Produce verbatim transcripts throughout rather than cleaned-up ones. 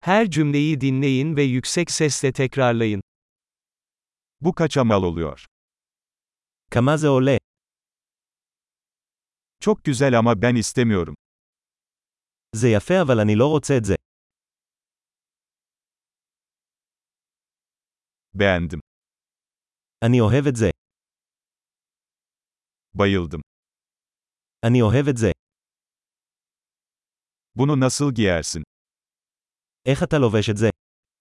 Her cümleyi dinleyin ve yüksek sesle tekrarlayın. Bu kaça mal oluyor? כמה זה עולה? Çok güzel ama ben istemiyorum. זה יפה אבל אני לא רוצה את זה. Beğendim. אני אוהב את זה. Bayıldım. אני אוהב את זה. Bunu nasıl giyersin? איך אתה לובש את זה?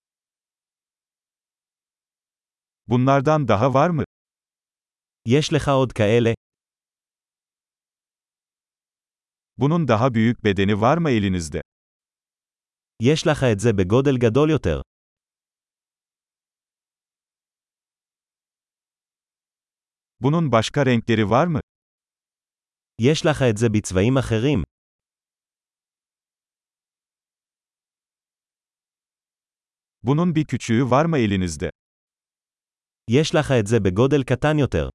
Bunlardan daha var mı? יש לך עוד כאלה? Bunun daha büyük bedeni var mı elinizde? יש לך את זה בגודל גדול יותר. Bunun başka renkleri var mı? יש לך את זה בצבעים אחרים. Bunun bir küçüğü var mı elinizde? יש לך את זה בגודל קטן יותר.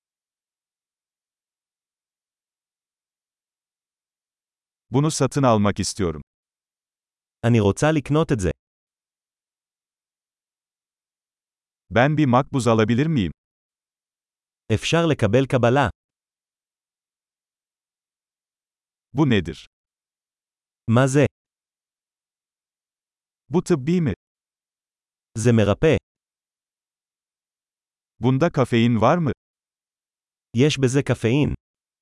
Bunu satın almak istiyorum. אני רוצה לקנות את זה. Ben bir makbuz alabilir miyim? אפשר לקבל קבלה. Bu nedir? מה זה? Bu tıbbi mi? זה מרפא. Bunda kafein var mı? יש בזה קפאין.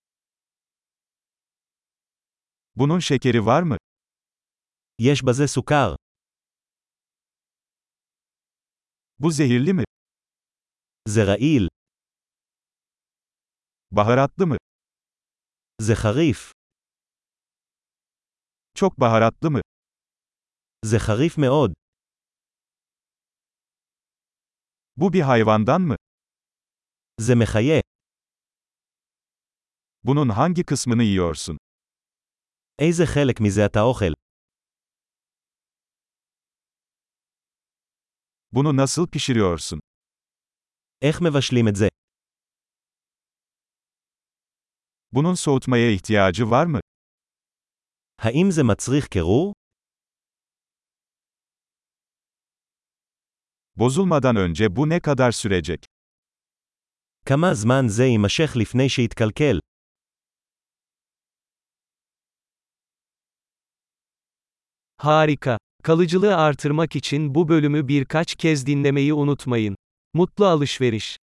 Bunun şekeri var mı? יש בזה סוכר. Bu zehirli mi? זה רעיל. Baharatlı mı? זה חריף. Çok baharatlı mı? זה חריף מאוד. Bu bir hayvandan mı? זה מחיה. Bunun hangi kısmını yiyorsun? איזה חלק מזה אתה אוכל? Bunu nasıl pişiriyorsun? איך מבשלים את זה? Bunun soğutmaya ihtiyacı var mı? האם זה מצריך קירור? Bozulmadan önce bu ne kadar sürecek? כמה זמן זה יימשך לפני שיתקלקל? Harika. Kalıcılığı artırmak için bu bölümü birkaç kez dinlemeyi unutmayın. Mutlu alışveriş.